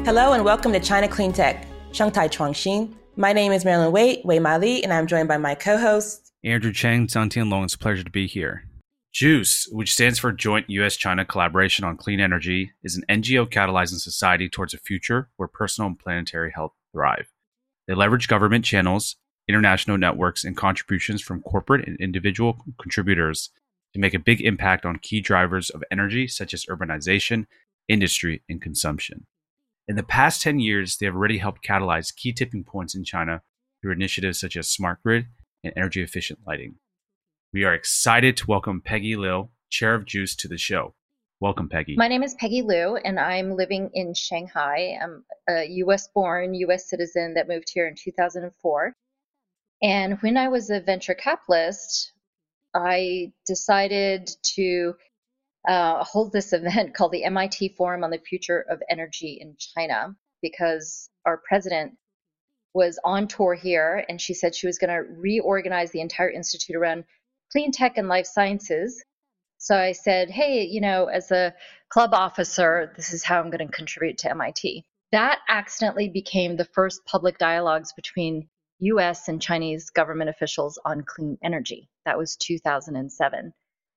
Hello and welcome to China Clean Tech, Shanghai Chuangxin. My name is Marilyn Wei Ma Li, and I'm joined by my co-host Andrew Cheng, Zhangtian Long. It's a pleasure to be here. JUICE, which stands for Joint U.S.-China Collaboration on Clean Energy, is an NGO catalyzing society towards a future where personal and planetary health thrive. They leverage government channels, international networks, and contributions from corporate and individual contributors to make a big impact on key drivers of energy such as urbanization, industry, and consumption. In the past 10 years, they have already helped catalyze key tipping points in China through initiatives such as smart grid and energy-efficient lighting. We are excited to welcome Peggy Liu, Chair of JUICE, to the show. Welcome, Peggy. My name is Peggy Liu, and I'm living in Shanghai. I'm a U.S.-born U.S. citizen that moved here in 2004. And when I was a venture capitalist, I decided to hold this event called the MIT Forum on the Future of Energy in China, because our president was on tour here, and she said she was going to reorganize the entire institute around clean tech and life sciences. So I said, hey, as a club officer, this is how I'm going to contribute to MIT. That accidentally became the first public dialogues between US and Chinese government officials on clean energy. That was 2007.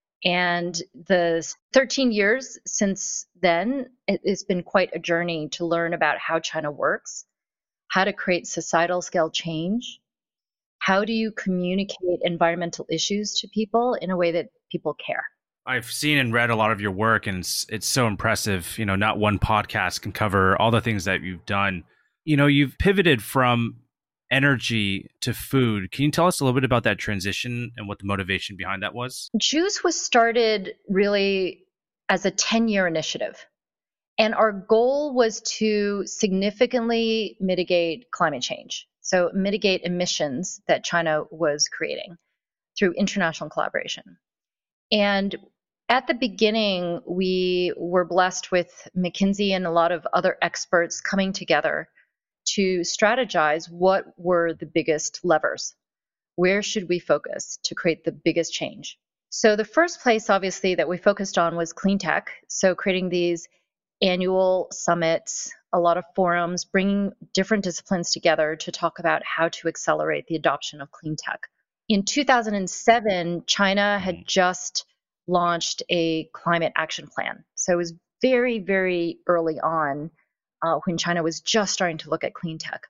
And the 13 years since then, it's been quite a journey to learn about how China works, how to create societal scale change, how do you communicate environmental issues to people in a way that people care. I've seen and read a lot of your work, and it's so impressive. Not one podcast can cover all the things that you've done. You've pivoted from energy to food. Can you tell us a little bit about that transition and what the motivation behind that was? JUICE was started really as a 10-year initiative. And our goal was to significantly mitigate climate change. So mitigate emissions that China was creating through international collaboration. And at the beginning, we were blessed with McKinsey and a lot of other experts coming together to strategize what were the biggest levers. Where should we focus to create the biggest change? So the first place, obviously, that we focused on was clean tech. So creating these annual summits, a lot of forums, bringing different disciplines together to talk about how to accelerate the adoption of clean tech. In 2007, China had just launched a climate action plan. So it was very, very early on when China was just starting to look at clean tech.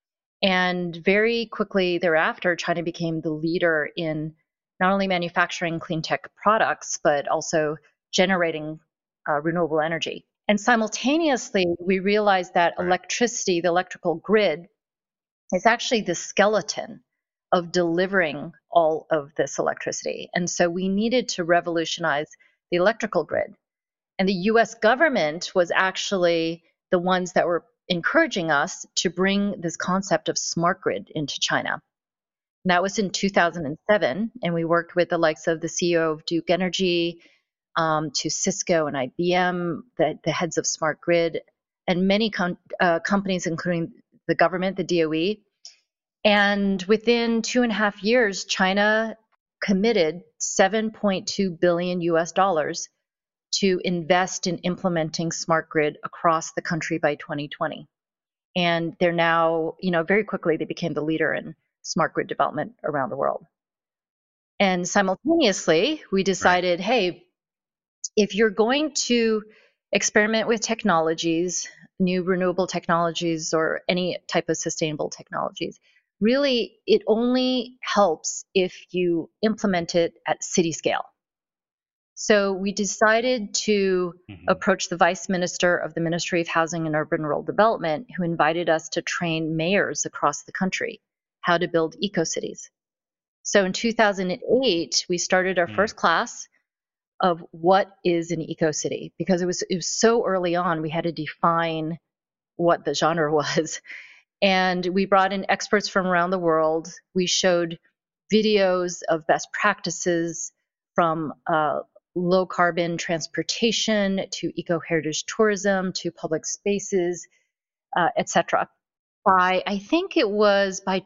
And very quickly thereafter, China became the leader in not only manufacturing clean tech products, but also generating renewable energy. And simultaneously, we realized that electricity, the electrical grid, is actually the skeleton of delivering all of this electricity. And so we needed to revolutionize the electrical grid. And the US government was actually the ones that were encouraging us to bring this concept of smart grid into China. And that was in 2007. And we worked with the likes of the CEO of Duke Energy, to Cisco and IBM, the heads of smart grid, and many companies, including the government, the DOE. And within 2.5 years, China committed $7.2 billion US to invest in implementing smart grid across the country by 2020. And they're now, very quickly, they became the leader in smart grid development around the world. And simultaneously, we decided, hey, if you're going to experiment with technologies, new renewable technologies, or any type of sustainable technologies, really, it only helps if you implement it at city scale. So we decided to approach the Vice Minister of the Ministry of Housing and Urban Rural Development, who invited us to train mayors across the country how to build eco-cities. So in 2008, we started our first class of what is an eco-city, because it was so early on, we had to define what the genre was. And we brought in experts from around the world. We showed videos of best practices from low carbon transportation to eco-heritage tourism to public spaces, etc. I think it was by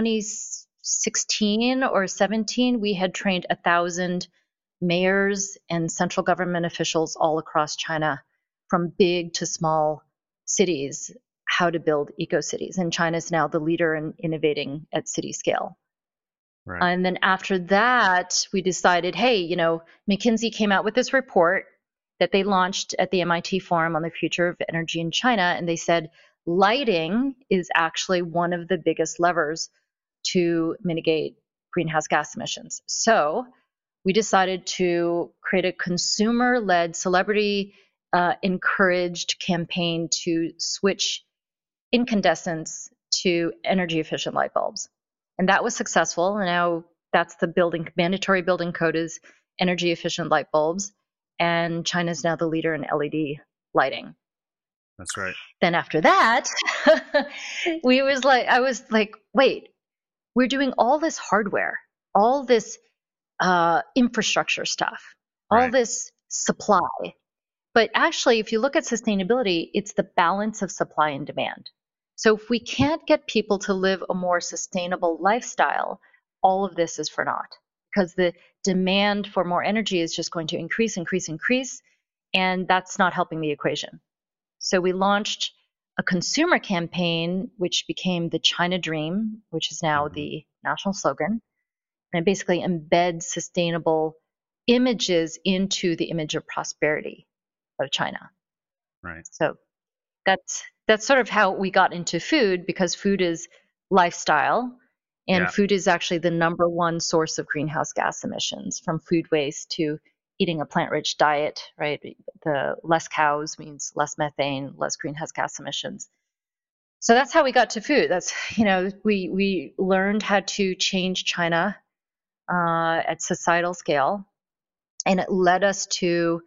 2016 or 17, we had trained 1,000 mayors and central government officials all across China, from big to small cities, how to build eco-cities. And China is now the leader in innovating at city scale. Right. And then after that, we decided, hey, McKinsey came out with this report that they launched at the MIT Forum on the Future of Energy in China. And they said lighting is actually one of the biggest levers to mitigate greenhouse gas emissions. So we decided to create a consumer-led, celebrity-encouraged campaign to switch incandescents to energy-efficient light bulbs. And that was successful. And now that's the mandatory building code is energy-efficient light bulbs. And China is now the leader in LED lighting. That's right. Then after that, I was like, wait, we're doing all this hardware, all this infrastructure stuff, all this supply. But actually, if you look at sustainability, it's the balance of supply and demand. So if we can't get people to live a more sustainable lifestyle, all of this is for naught, because the demand for more energy is just going to increase, and that's not helping the equation. So we launched a consumer campaign, which became the China Dream, which is now the national slogan. And it basically embeds sustainable images into the image of prosperity of China. Right. So that's sort of how we got into food, because food is lifestyle, and food is actually the number one source of greenhouse gas emissions, from food waste to eating a plant-rich diet, right? The less cows means less methane, less greenhouse gas emissions. So that's how we got to food. That's, we learned how to change China at societal scale, and it led us to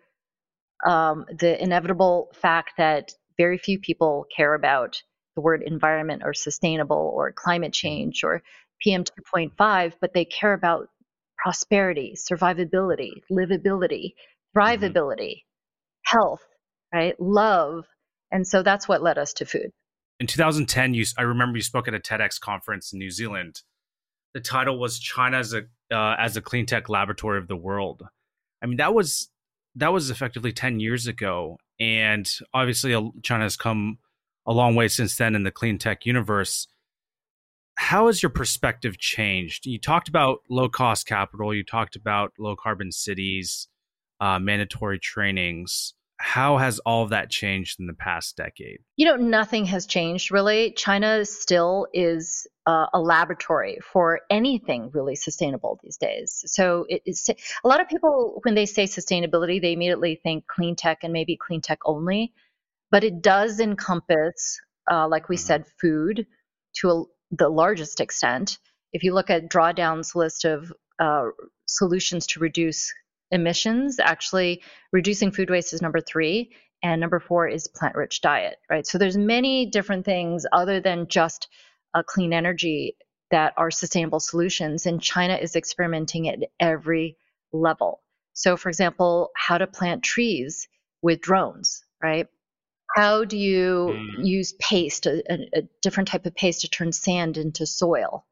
the inevitable fact that very few people care about the word environment or sustainable or climate change or PM 2.5, but they care about prosperity, survivability, livability, thrivability, health, right? Love. And so that's what led us to food. In 2010, I remember you spoke at a TEDx conference in New Zealand. The title was China as a clean tech laboratory of the world. I mean, that was effectively 10 years ago. And obviously, China has come a long way since then in the clean tech universe. How has your perspective changed? You talked about low-cost capital. You talked about low-carbon cities, mandatory trainings. How has all of that changed in the past decade? Nothing has changed, really. China still is a laboratory for anything really sustainable these days. So a lot of people, when they say sustainability, they immediately think clean tech and maybe clean tech only. But it does encompass, like we said, food to the largest extent. If you look at Drawdown's list of solutions to reduce emissions, actually reducing food waste is number 3, and number 4 is plant-rich diet, right? So there's many different things other than just clean energy that are sustainable solutions, and China is experimenting at every level. So for example, how to plant trees with drones, right? How do you use paste, a different type of paste to turn sand into soil?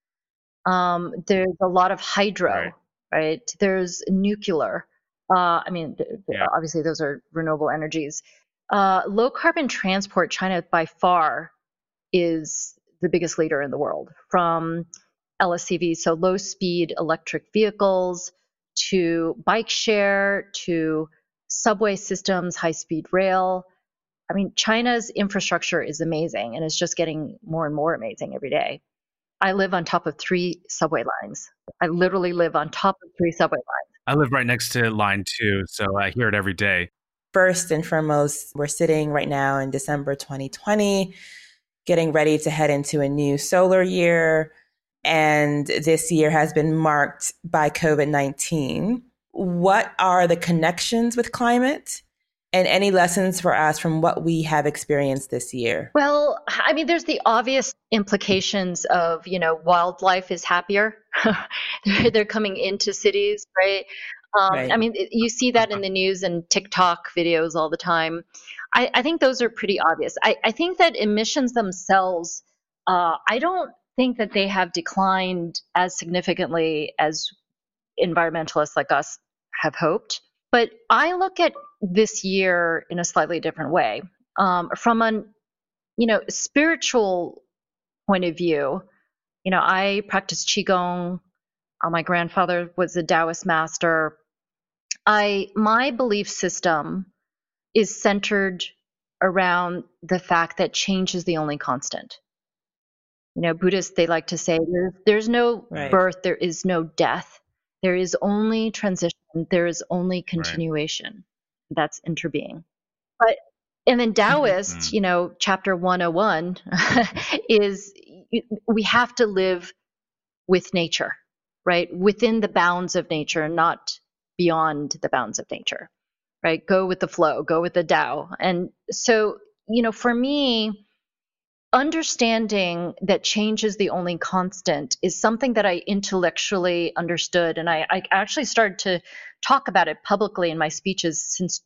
There's a lot of hydro, right? There's nuclear. Obviously those are renewable energies. Low carbon transport, China by far is the biggest leader in the world, from LSCV, so low speed electric vehicles, to bike share, to subway systems, high speed rail. I mean, China's infrastructure is amazing, and it's just getting more and more amazing every day. I live on top of 3 subway lines. I literally live on top of 3 subway lines. I live right next to line 2, so I hear it every day. First and foremost, we're sitting right now in December 2020, getting ready to head into a new solar year. And this year has been marked by COVID-19. What are the connections with climate? And any lessons for us from what we have experienced this year? Well, I mean, there's the obvious implications of, wildlife is happier. They're coming into cities, right? Right. I mean, you see that in the news and TikTok videos all the time. I think those are pretty obvious. I think that emissions themselves, I don't think that they have declined as significantly as environmentalists like us have hoped. But I look at this year in a slightly different way. From a spiritual point of view, I practice Qigong. My grandfather was a Taoist master. My belief system is centered around the fact that change is the only constant. Buddhists, they like to say there's no birth, there is no death. There is only transition. There is only continuation. That's interbeing. And then Taoist, chapter 101 is we have to live with nature, right? Within the bounds of nature, not beyond the bounds of nature, right? Go with the flow, go with the Tao. And so, for me, understanding that change is the only constant is something that I intellectually understood. And I actually started to talk about it publicly in my speeches since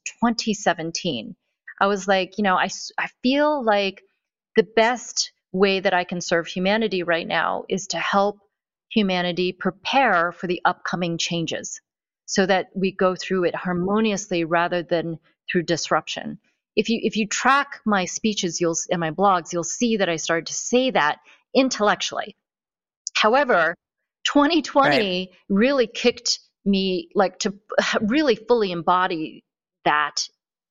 2017. I was like, I feel like the best way that I can serve humanity right now is to help humanity prepare for the upcoming changes so that we go through it harmoniously rather than through disruption. If you track my speeches and my blogs, you'll see that I started to say that intellectually. However, 2020 really kicked me to really fully embody that,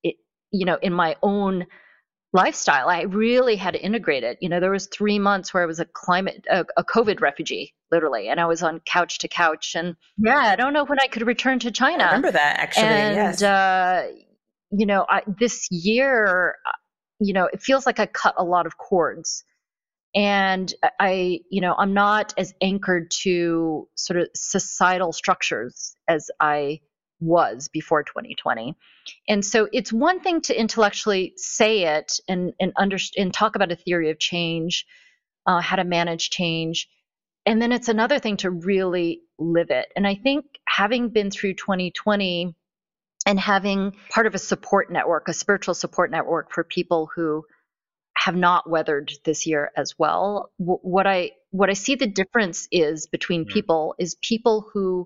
in my own lifestyle. I really had to integrate it. There was 3 months where I was a COVID refugee, literally, and I was on couch to couch. And I don't know when I could return to China. I remember that, actually. And, yes. This year, it feels like I cut a lot of cords. And I'm not as anchored to sort of societal structures as I was before 2020. And so it's one thing to intellectually say it and talk about a theory of change, how to manage change. And then it's another thing to really live it. And I think having been through 2020 and having part of a support network, a spiritual support network for people who have not weathered this year as well, what I see the difference is between people is people who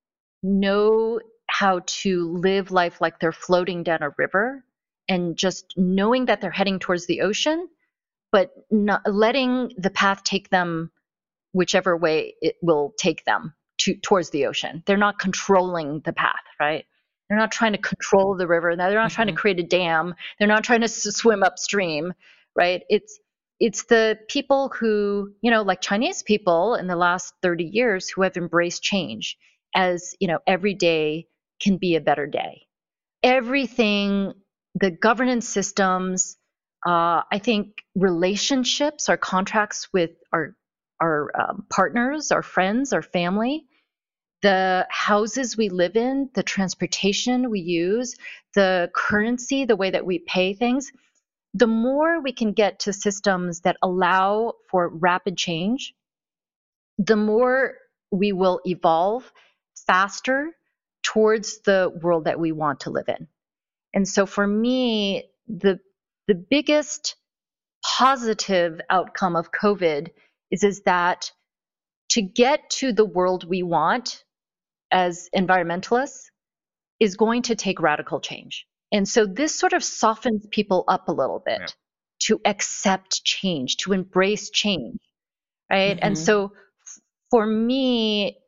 know how to live life like they're floating down a river and just knowing that they're heading towards the ocean, but not letting the path take them whichever way it will take them towards the ocean. They're not controlling the path, right? They're not trying to control the river. They're not trying to create a dam. They're not trying to swim upstream, right? It's the people who, like Chinese people in the last 30 years who have embraced change as, every day can be a better day. Everything, the governance systems, I think relationships, our contracts with our partners, our friends, our family, the houses we live in, the transportation we use, the currency, the way that we pay things, the more we can get to systems that allow for rapid change, the more we will evolve faster towards the world that we want to live in. And so for me, the biggest positive outcome of COVID is that to get to the world we want as environmentalists is going to take radical change. And so this sort of softens people up a little bit to accept change, to embrace change, right? And so for me,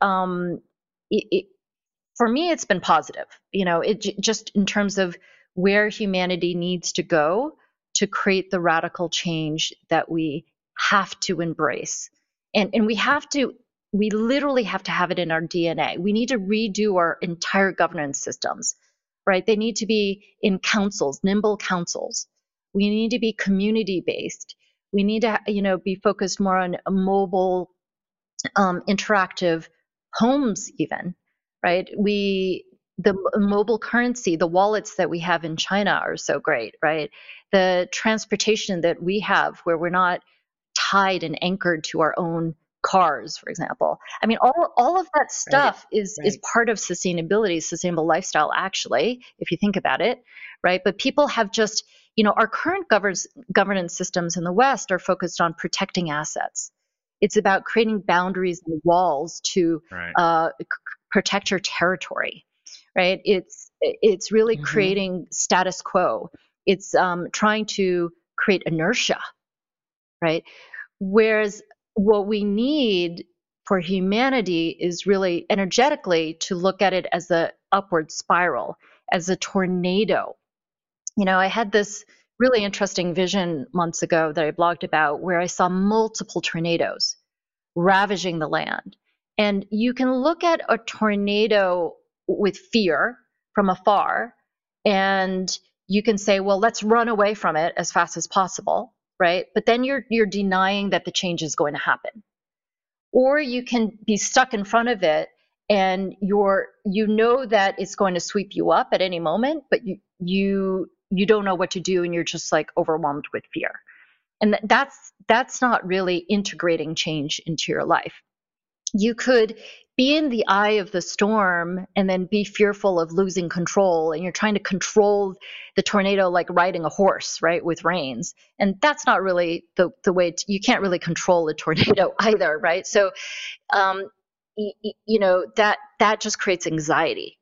it's been positive, just in terms of where humanity needs to go to create the radical change that we have to embrace. And we literally have to have it in our DNA. We need to redo our entire governance systems, right? They need to be in councils, nimble councils. We need to be community-based. We need to, be focused more on mobile, interactive homes even, right? The mobile currency, the wallets that we have in China are so great, right? The transportation that we have where we're not tied and anchored to our own cars, for example. I mean, all of that stuff is part of sustainability, sustainable lifestyle, actually, if you think about it, right? But people have just, our current governance systems in the West are focused on protecting assets. It's about creating boundaries and walls to protect your territory, right? It's really creating status quo. It's trying to create inertia, right? Whereas what we need for humanity is really energetically to look at it as a upward spiral, as a tornado. I had this really interesting vision months ago that I blogged about where I saw multiple tornadoes ravaging the land. And you can look at a tornado with fear from afar, and you can say, well, let's run away from it as fast as possible, right? But then you're denying that the change is going to happen. Or you can be stuck in front of it and you know that it's going to sweep you up at any moment, but you don't know what to do, and you're just like overwhelmed with fear. And that's not really integrating change into your life. You could be in the eye of the storm and then be fearful of losing control, and you're trying to control the tornado like riding a horse, right, with reins. And that's not really the way you can't really control a tornado either, right? So that just creates anxiety.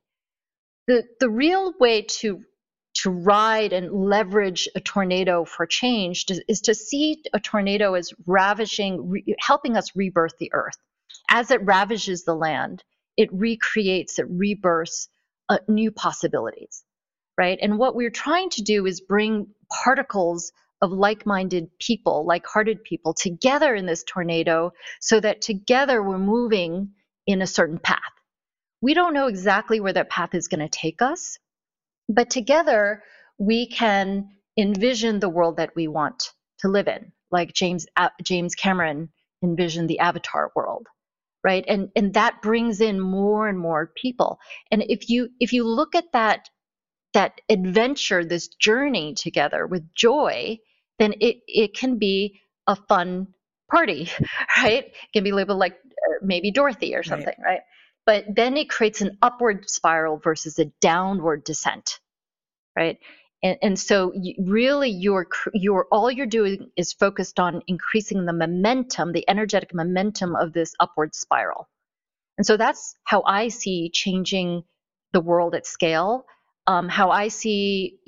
The real way to ride and leverage a tornado for change is to see a tornado as ravaging, helping us rebirth the earth. As it ravages the land, it recreates, it rebirths new possibilities, right? And what we're trying to do is bring particles of like-minded people, like-hearted people together in this tornado so that together we're moving in a certain path. We don't know exactly where that path is going to take us, but together we can envision the world that we want to live in, like James Cameron envisioned the Avatar world, right? And that brings in more and more people. And if you look at that adventure, this journey together with joy, then it can be a fun party, right? It can be labeled like maybe Dorothy or something, right? But then it creates an upward spiral versus a downward descent, right? And so really all you're doing is focused on increasing the momentum, the energetic momentum of this upward spiral. And so that's how I see changing the world at scale, how I see,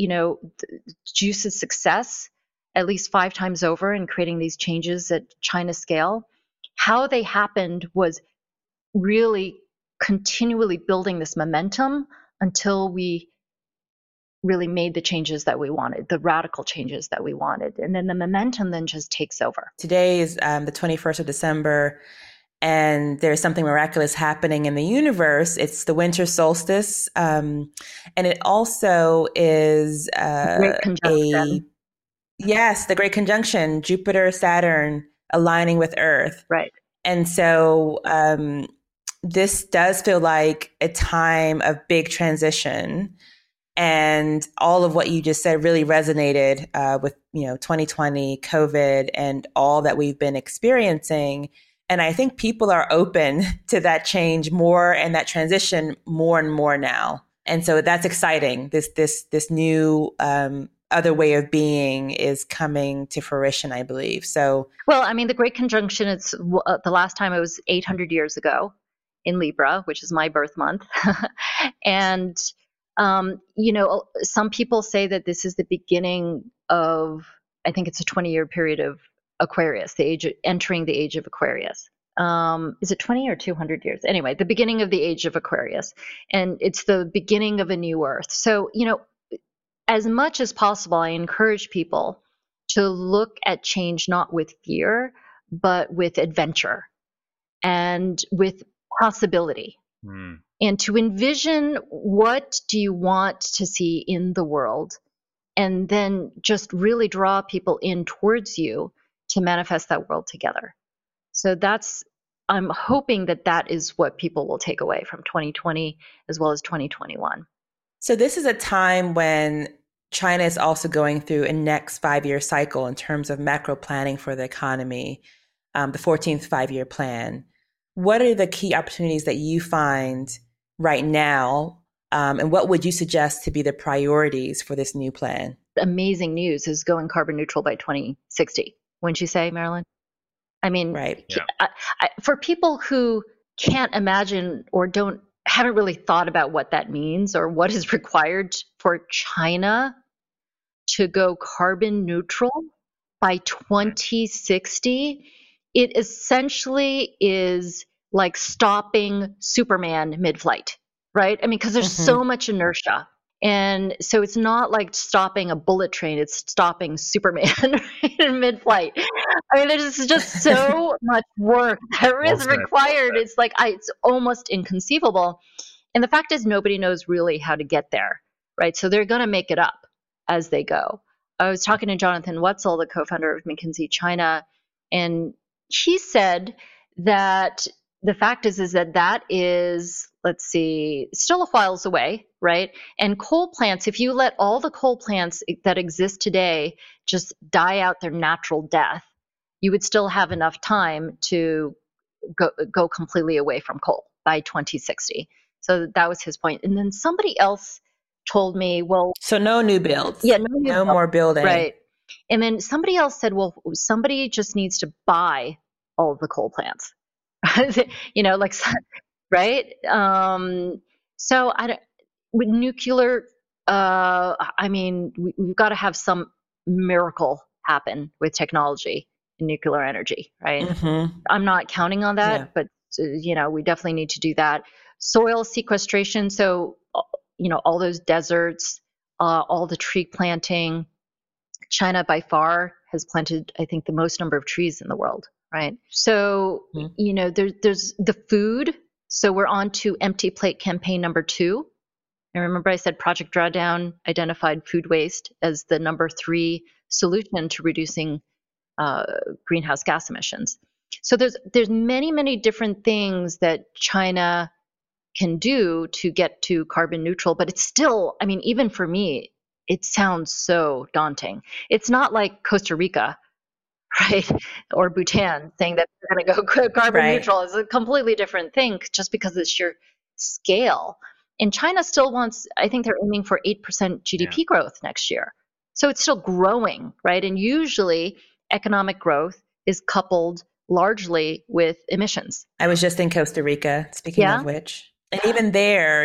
Juice's success at least 5 times over in creating these changes at China scale. How they happened was really continually building this momentum until we really made the changes that we wanted, the radical changes that we wanted. And then the momentum then just takes over. Today is the 21st of December, and there's something miraculous happening in the universe. It's the winter solstice. And it also is Great conjunction. The Great Conjunction, Jupiter, Saturn aligning with Earth. Right. And so this does feel like a time of big transition. And all of what you just said really resonated with 2020, COVID, and all that we've been experiencing. And I think people are open to that change more and that transition more and more now. And so that's exciting. This new other way of being is coming to fruition, I believe. So, well, I mean, the Great Conjunction, it's the last time it was 800 years ago in Libra, which is my birth month. And some people say that this is the beginning of, I think it's a 20-year period of Aquarius, entering the age of Aquarius. Is it 20 or 200 years? Anyway, the beginning of the age of Aquarius. And it's the beginning of a new Earth. So, as much as possible, I encourage people to look at change not with fear, but with adventure and with possibility. And to envision what do you want to see in the world, and then just really draw people in towards you to manifest that world together. So I'm hoping that is what people will take away from 2020 as well as 2021. So this is a time when China is also going through a next 5-year cycle in terms of macro planning for the economy, the 14th 5-year plan. What are the key opportunities that you find right now? And what would you suggest to be the priorities for this new plan? Amazing news is going carbon neutral by 2060. Wouldn't you say, Marilyn? I mean, right. Yeah. For people who can't imagine or haven't really thought about what that means or what is required for China to go carbon neutral by 2060, it essentially is like stopping Superman mid-flight, right? I mean, because there's so much inertia. And so it's not like stopping a bullet train, it's stopping Superman in mid-flight. I mean, there's just so much work that is required. It's like, it's almost inconceivable. And the fact is, nobody knows really how to get there, right? So they're going to make it up as they go. I was talking to Jonathan Wetzel, the co-founder of McKinsey China, and he said that the fact is that is, let's see, still a whiles away, right? And coal plants, if you let all the coal plants that exist today just die out their natural death, you would still have enough time to go completely away from coal by 2060. So that was his point. And then somebody else told me, well... So no new builds. Yeah, no more building. Right. And then somebody else said, well, somebody just needs to buy all of the coal plants. Like, right? So with nuclear, I mean, we've got to have some miracle happen with technology and nuclear energy, right? I'm not counting on that, but, we definitely need to do that. Soil sequestration. So, all those deserts, all the tree planting. China by far has planted, I think, the most number of trees in the world, right? So, there's the food. So we're on to empty plate campaign number 2. And remember I said Project Drawdown identified food waste as the number 3 solution to reducing greenhouse gas emissions. So there's many, many different things that China can do to get to carbon neutral, but it's still, I mean, even for me, it sounds so daunting. It's not like Costa Rica, right? Or Bhutan saying that they're going to go carbon neutral. Is a completely different thing just because of the sheer scale. And China still wants, I think they're aiming for 8% GDP growth next year. So it's still growing, right? And usually economic growth is coupled largely with emissions. I was just in Costa Rica, speaking of which. And even there,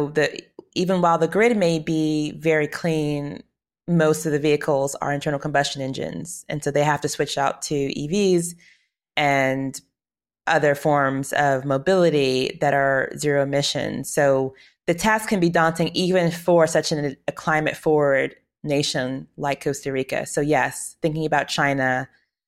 even while the grid may be very clean, most of the vehicles are internal combustion engines. And so they have to switch out to EVs and other forms of mobility that are zero emission. So the task can be daunting even for such a climate forward nation like Costa Rica. So yes, thinking about China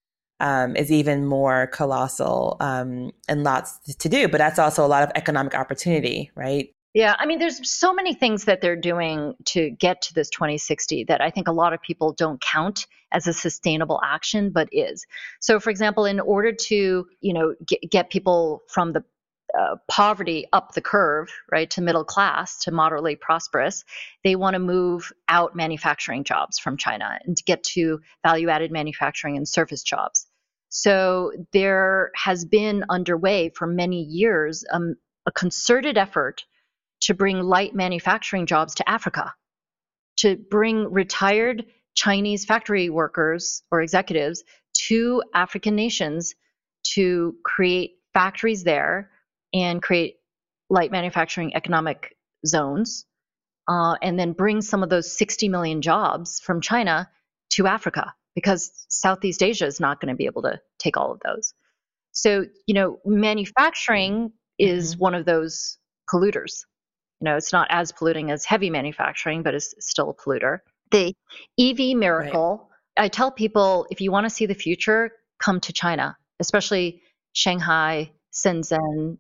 is even more colossal and lots to do. But that's also a lot of economic opportunity, right? Yeah, I mean, there's so many things that they're doing to get to this 2060 that I think a lot of people don't count as a sustainable action, but is. So, for example, in order to, get people from the poverty up the curve, right, to middle class, to moderately prosperous, they want to move out manufacturing jobs from China and to get to value-added manufacturing and service jobs. So there has been underway for many years a concerted effort to bring light manufacturing jobs to Africa, to bring retired Chinese factory workers or executives to African nations to create factories there and create light manufacturing economic zones, and then bring some of those 60 million jobs from China to Africa, because Southeast Asia is not going to be able to take all of those. So, manufacturing is one of those polluters. It's not as polluting as heavy manufacturing, but it's still a polluter. The EV miracle, I tell people, if you want to see the future, come to China, especially Shanghai, Shenzhen.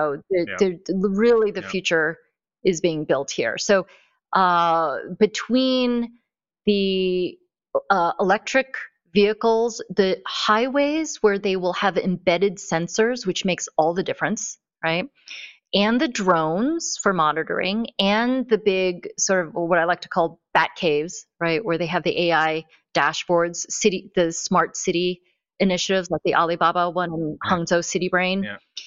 Really the future is being built here. So between the electric vehicles, the highways where they will have embedded sensors, which makes all the difference, right? And the drones for monitoring, and the big sort of what I like to call bat caves, right, where they have the AI dashboards, the smart city initiatives like the Alibaba one and Hangzhou City Brain.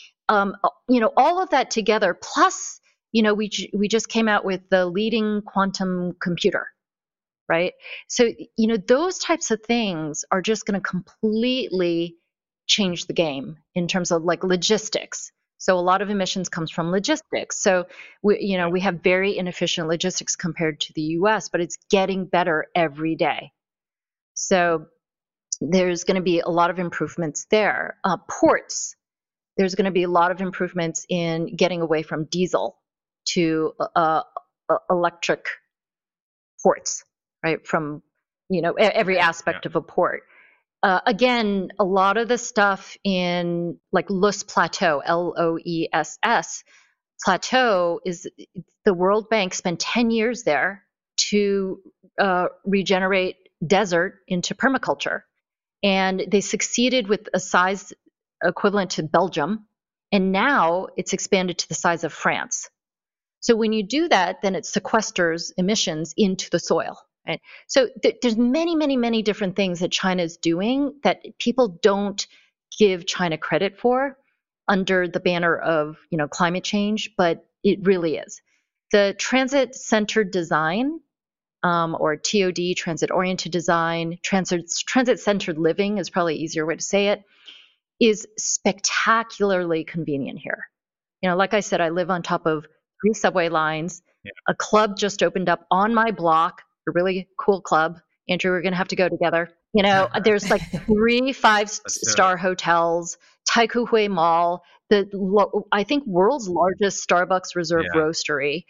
All of that together, plus, we just came out with the leading quantum computer, right? So, those types of things are just going to completely change the game in terms of like logistics. So a lot of emissions comes from logistics. So we have very inefficient logistics compared to the US, but it's getting better every day. So there's going to be a lot of improvements there. Ports, there's going to be a lot of improvements in getting away from diesel to electric ports, right? From, every aspect of a port. Again, a lot of the stuff in like Loess Plateau, Loess Plateau, is the World Bank spent 10 years there to regenerate desert into permaculture. And they succeeded with a size equivalent to Belgium. And now it's expanded to the size of France. So when you do that, then it sequesters emissions into the soil. Right? So there's many, many, many different things that China is doing that people don't give China credit for under the banner of, climate change, but it really is. The transit-centered design, or TOD, transit-oriented design, transit-centered living is probably an easier way to say it, is spectacularly convenient here. Like I said, I live on top of 3 subway lines. Yeah. A club just opened up on my block, a really cool club. Andrew, we're going to have to go together. There's like 3 5-star hotels, Taikoo Hui Mall, I think world's largest Starbucks Reserve roastery.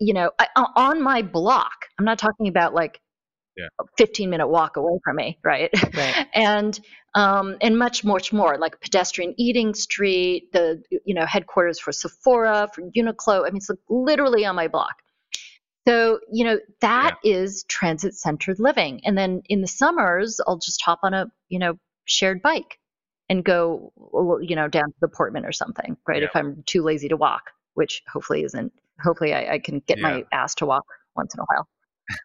On my block. I'm not talking about like a 15-minute walk away from me, right? And much, much more, like pedestrian eating street, the headquarters for Sephora, for Uniqlo. I mean, it's like literally on my block. So, that is transit-centered living. And then in the summers, I'll just hop on a, shared bike and go, down to the Portman or something, right? If I'm too lazy to walk, which hopefully I can get my ass to walk once in a while.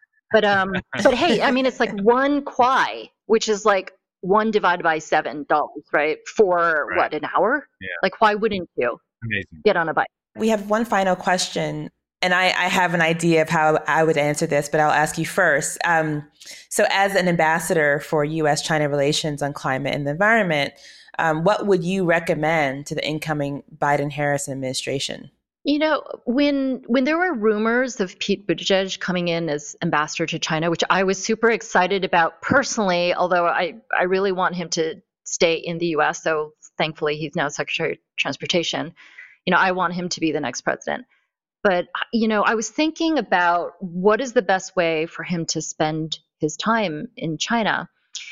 But hey, I mean, it's like 1 kwai, which is like 1 divided by $7, right? For what, an hour? Yeah. Like, why wouldn't you get on a bike? We have one final question, and I have an idea of how I would answer this, but I'll ask you first. So as an ambassador for U.S.-China relations on climate and the environment, what would you recommend to the incoming Biden-Harris administration? When there were rumors of Pete Buttigieg coming in as ambassador to China, which I was super excited about personally, although I really want him to stay in the U.S., so thankfully he's now Secretary of Transportation. I want him to be the next president. But, I was thinking about what is the best way for him to spend his time in China.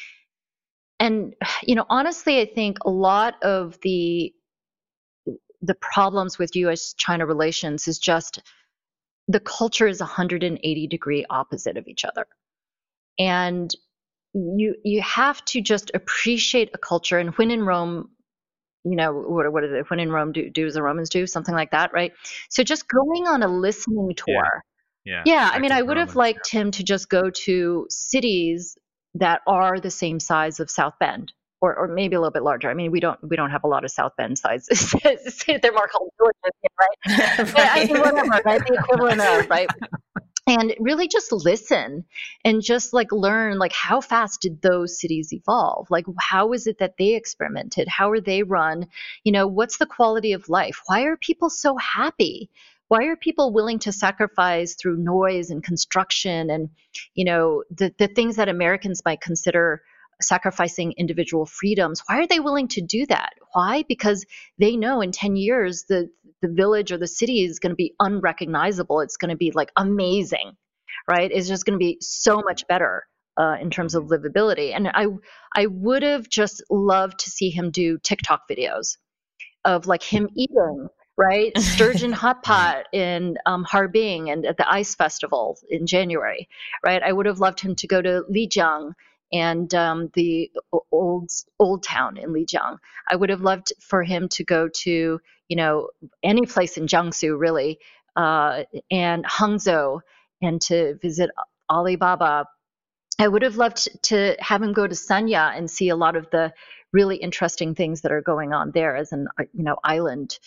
And, honestly, I think a lot of the problems with U.S.-China relations is just the culture is 180-degree opposite of each other. And you have to just appreciate a culture. And when in Rome, what is it? When in Rome, do as the Romans do, something like that, right? So just going on a listening tour. Yeah. I mean, I would have liked him to just go to cities that are the same size of South Bend. Or maybe a little bit larger. I mean, we don't have a lot of South Bend sizes. They're more called villages, right? But I mean, whatever, right? The equivalent of, right? And really just listen and just like learn, like how fast did those cities evolve? Like how is it that they experimented? How are they run? What's the quality of life? Why are people so happy? Why are people willing to sacrifice through noise and construction and, the things that Americans might consider sacrificing individual freedoms? Why are they willing to do that? Why? Because they know in 10 years the village or the city is going to be unrecognizable. It's going to be like amazing, right? It's just going to be so much better in terms of livability. And I would have just loved to see him do TikTok videos of like him eating, right? Sturgeon hot pot in Harbin and at the Ice Festival in January, right? I would have loved him to go to Lijiang and the old town in Lijiang. I would have loved for him to go to, any place in Jiangsu, really, and Hangzhou, and to visit Alibaba. I would have loved to have him go to Sanya and see a lot of the really interesting things that are going on there as an, island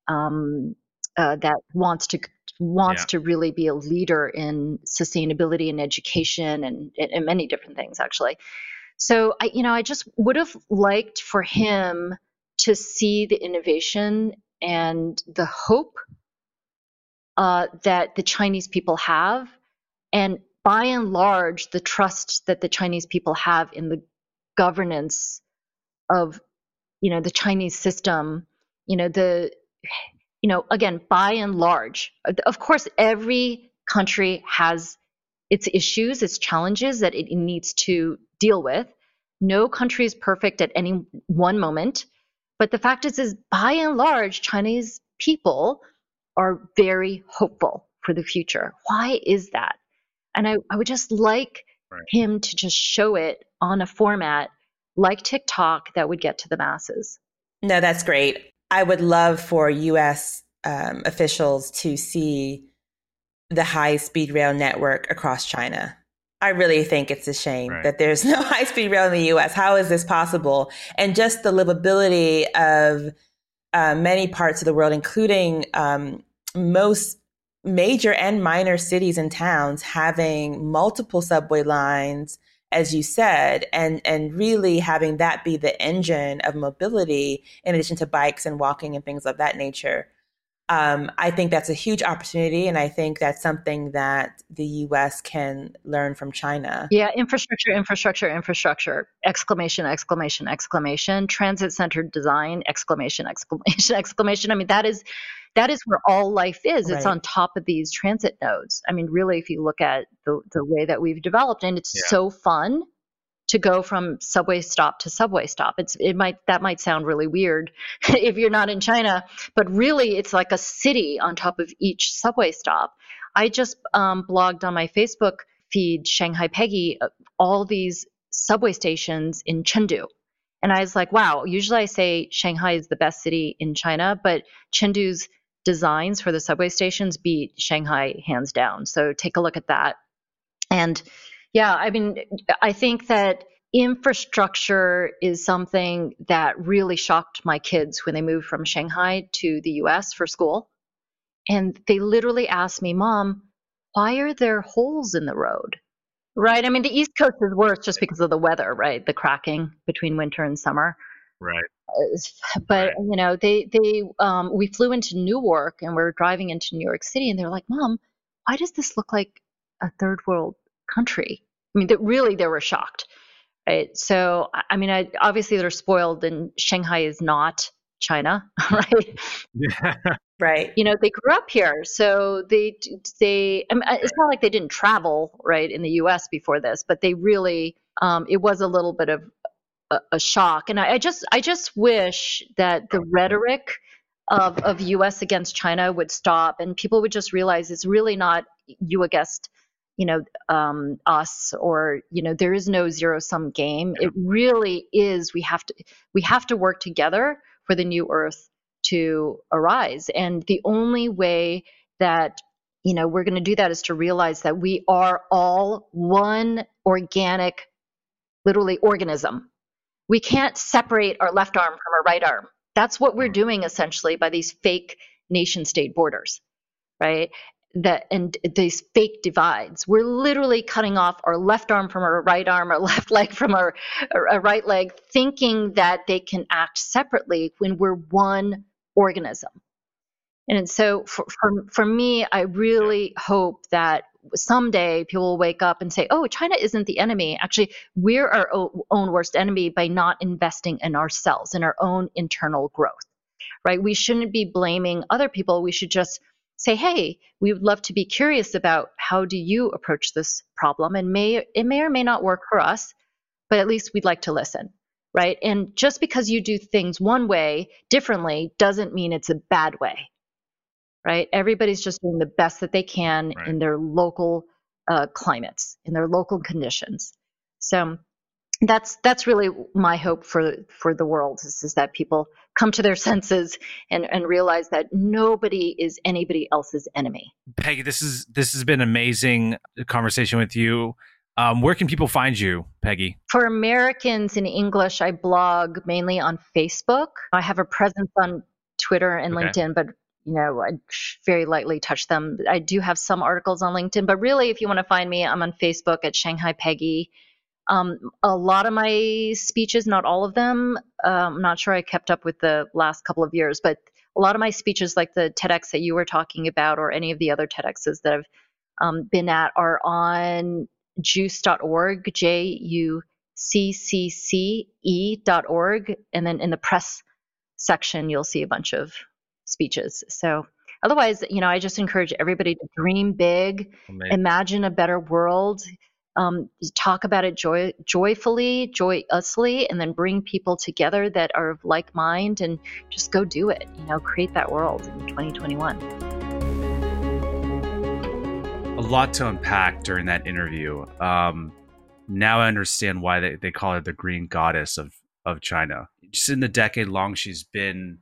that wants to really be a leader in sustainability and education and many different things, actually. So I just would have liked for him to see the innovation and the hope that the Chinese people have, and by and large, the trust that the Chinese people have in the governance of, the Chinese system, again, by and large, of course, every country has its issues, its challenges that it needs to deal with. No country is perfect at any one moment. But the fact is by and large, Chinese people are very hopeful for the future. Why is that? And I would just like him to just show it on a format like TikTok that would get to the masses. No, that's great. I would love for U.S. Officials to see the high-speed rail network across China. I really think it's a shame that there's no high-speed rail in the U.S. How is this possible? And just the livability of many parts of the world, including most major and minor cities and towns having multiple subway lines, as you said, and really having that be the engine of mobility in addition to bikes and walking and things of that nature. I think that's a huge opportunity, and I think that's something that the U.S. can learn from China. Yeah, infrastructure, exclamation, exclamation, exclamation, transit-centered design, exclamation, exclamation, exclamation. I mean, that is where all life is. It's on top of these transit nodes. I mean, really, if you look at the way that we've developed, and it's so fun to go from subway stop to subway stop. That might sound really weird if you're not in China, but really it's like a city on top of each subway stop. I just blogged on my Facebook feed, Shanghai Peggy, all these subway stations in Chengdu. And I was like, wow, usually I say Shanghai is the best city in China, but Chengdu's designs for the subway stations beat Shanghai hands down. So take a look at that. And yeah, I mean, I think that infrastructure is something that really shocked my kids when they moved from Shanghai to the US for school. And they literally asked me, Mom, why are there holes in the road? Right? I mean, the East Coast is worse just because of the weather, right? The cracking between winter and summer. Right. But, we flew into Newark and we're driving into New York City and they're like, Mom, why does this look like a third world country? I mean, they were shocked, right? So, I mean, obviously they're spoiled, and Shanghai is not China, right? Yeah. Right. They grew up here, so they. I mean, it's not like they didn't travel, right, in the U.S. before this, but they really, it was a little bit of a shock, and I just wish that the rhetoric of U.S. against China would stop, and people would just realize it's really not you against us, or there is no zero-sum game. It really is. We have to work together for the new Earth to arise, and the only way that we're going to do that is to realize that we are all one organic, literally, organism. We can't separate our left arm from our right arm. That's what we're doing essentially by these fake nation-state borders, right? And these fake divides. We're literally cutting off our left arm from our right arm, our left leg from our right leg, thinking that they can act separately when we're one organism. And so for me, I really hope that someday people will wake up and say, oh, China isn't the enemy. Actually, we're our own worst enemy by not investing in ourselves, in our own internal growth, right? We shouldn't be blaming other people. We should just say, hey, we would love to be curious about how do you approach this problem? And it may or may not work for us, but at least we'd like to listen, right? And just because you do things one way differently doesn't mean it's a bad way, right? Everybody's just doing the best that they can in their local climates, in their local conditions. So that's really my hope for the world is that people come to their senses and realize that nobody is anybody else's enemy. Peggy, this has been an amazing conversation with you. Where can people find you, Peggy? For Americans in English, I blog mainly on Facebook. I have a presence on Twitter and LinkedIn, but I very lightly touch them. I do have some articles on LinkedIn, but really, if you want to find me, I'm on Facebook at Shanghai Peggy. A lot of my speeches, not all of them, I'm not sure I kept up with the last couple of years, but a lot of my speeches, like the TEDx that you were talking about, or any of the other TEDx's that I've been at, are on juice.org, ccce.org. And then in the press section, you'll see a bunch of speeches. So otherwise, I just encourage everybody to dream big, imagine a better world, talk about it joyously, and then bring people together that are of like mind and just go do it, create that world in 2021. A lot to unpack during that interview. Now I understand why they call her the green goddess of China. Just in the decade she's been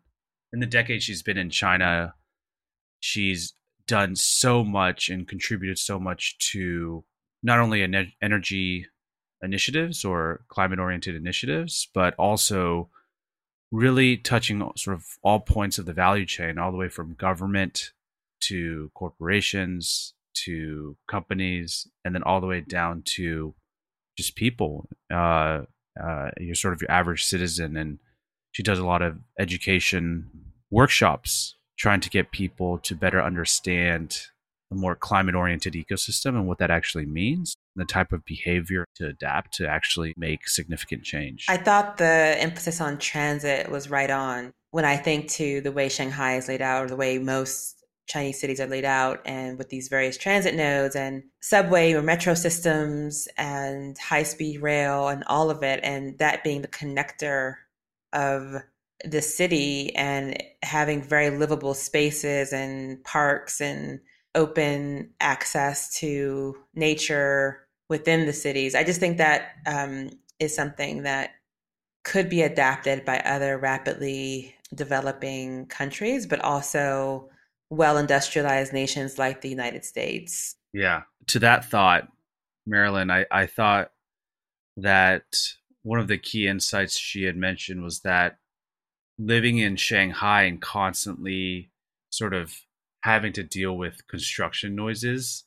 in China, she's done so much and contributed so much to not only energy initiatives or climate-oriented initiatives, but also really touching sort of all points of the value chain, all the way from government to corporations to companies, and then all the way down to just people. You're sort of your average citizen, and she does a lot of education workshops trying to get people to better understand a more climate-oriented ecosystem and what that actually means, and the type of behavior to adapt to actually make significant change. I thought the emphasis on transit was right on. When I think to the way Shanghai is laid out, or the way most Chinese cities are laid out, and with these various transit nodes and subway or metro systems and high-speed rail and all of it, and that being the connector of the city and having very livable spaces and parks and open access to nature within the cities. I just think that is something that could be adapted by other rapidly developing countries, but also well-industrialized nations like the United States. Yeah. To that thought, Marilyn, I thought that one of the key insights she had mentioned was that living in Shanghai and constantly sort of having to deal with construction noises,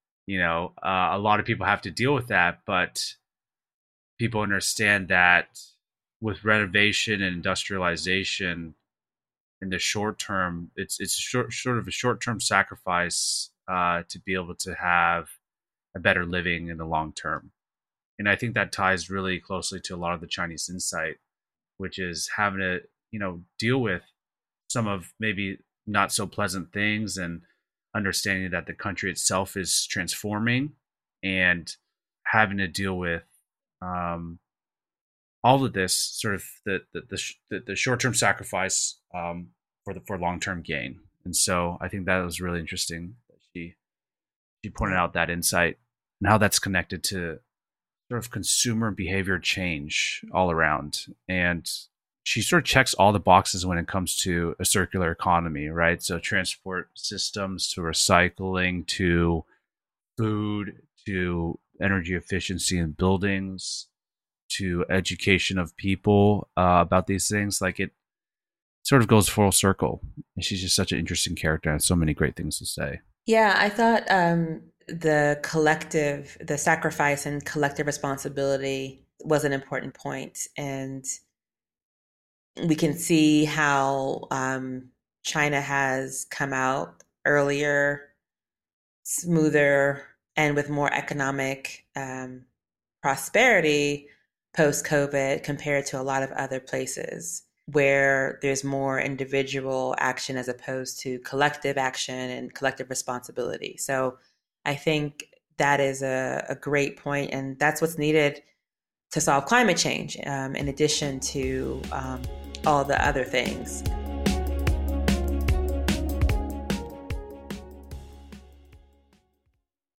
a lot of people have to deal with that, but people understand that with renovation and industrialization, in the short term, it's sort of a short-term sacrifice to be able to have a better living in the long term. And I think that ties really closely to a lot of the Chinese insight, which is having to, deal with some of maybe not so pleasant things, and understanding that the country itself is transforming, and having to deal with all of this sort of the short-term sacrifice for long-term gain. And so I think that was really interesting that she pointed out that insight and how that's connected to sort of consumer behavior change all around. And she sort of checks all the boxes when it comes to a circular economy, right? So transport systems, to recycling, to food, to energy efficiency in buildings, to education of people about these things. Like, it sort of goes full circle. And she's just such an interesting character and so many great things to say. Yeah, I thought the sacrifice and collective responsibility was an important point. And we can see how China has come out earlier, smoother, and with more economic prosperity post-COVID compared to a lot of other places where there's more individual action as opposed to collective action and collective responsibility. So I think that is a great point, and that's what's needed to solve climate change, in addition to all the other things.